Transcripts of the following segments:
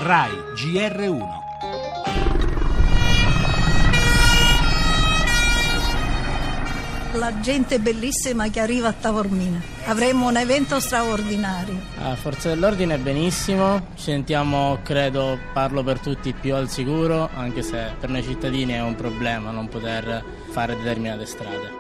RAI GR1. La gente bellissima che arriva a Taormina. Avremo un evento straordinario. La forza dell'ordine è benissimo, ci sentiamo, credo, parlo per tutti, più al sicuro, anche se per noi cittadini è un problema non poter fare determinate strade.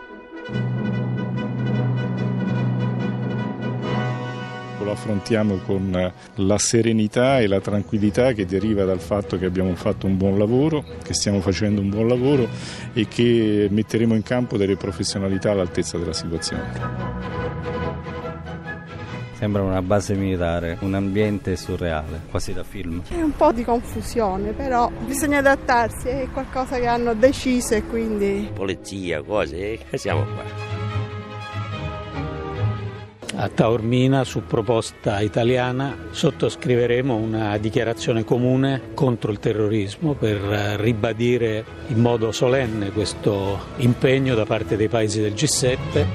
Lo affrontiamo con la serenità e la tranquillità che deriva dal fatto che abbiamo fatto un buon lavoro, che stiamo facendo un buon lavoro e che metteremo in campo delle professionalità all'altezza della situazione. Sembra una base militare, un ambiente surreale, quasi da film. C'è un po' di confusione, però bisogna adattarsi, è qualcosa che hanno deciso e quindi... Polizia, cose, siamo qua. A Taormina, su proposta italiana, sottoscriveremo una dichiarazione comune contro il terrorismo per ribadire in modo solenne questo impegno da parte dei paesi del G7.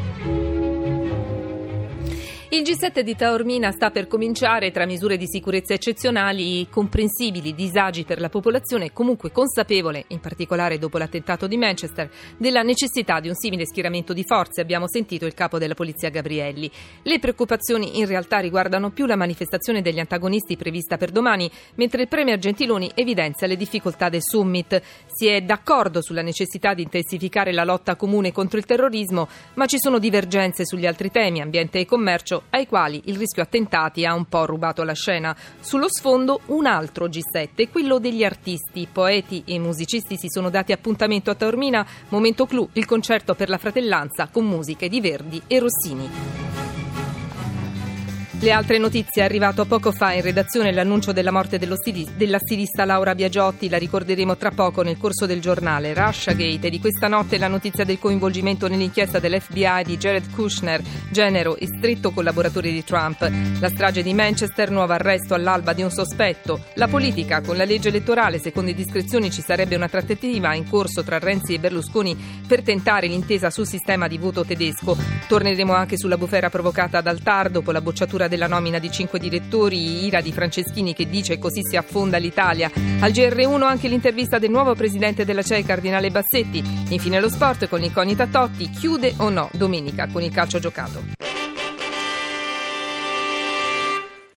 Il G7 di Taormina sta per cominciare. Tra misure di sicurezza eccezionali, comprensibili disagi per la popolazione, comunque consapevole, in particolare dopo l'attentato di Manchester, della necessità di un simile schieramento di forze. Abbiamo sentito il capo della polizia Gabrielli. Le preoccupazioni in realtà riguardano più la manifestazione degli antagonisti prevista per domani, mentre il premier Gentiloni evidenzia le difficoltà del summit. Si è d'accordo sulla necessità di intensificare la lotta comune contro il terrorismo, ma ci sono divergenze sugli altri temi, ambiente e commercio, ai quali il rischio attentati ha un po' rubato la scena. Sullo sfondo un altro G7, quello degli artisti. Poeti e musicisti si sono dati appuntamento a Taormina. Momento clou, il concerto per la fratellanza con musiche di Verdi e Rossini. Le altre notizie: è arrivato poco fa in redazione l'annuncio della morte della stilista Laura Biagiotti. La ricorderemo tra poco nel corso del giornale. Russiagate, e di questa notte la notizia del coinvolgimento nell'inchiesta dell'FBI di Jared Kushner, genero e stretto collaboratore di Trump. La strage di Manchester, nuovo arresto all'alba di un sospetto. La politica, con la legge elettorale, secondo indiscrezioni ci sarebbe una trattativa in corso tra Renzi e Berlusconi per tentare l'intesa sul sistema di voto tedesco. Torneremo anche sulla bufera provocata dal TAR dopo la bocciatura della nomina di 5 direttori, ira di Franceschini che dice così si affonda l'Italia. Al GR1 anche l'intervista del nuovo presidente della CEI, Cardinale Bassetti. Infine lo sport con l'incognita Totti, chiude o no domenica con il calcio giocato.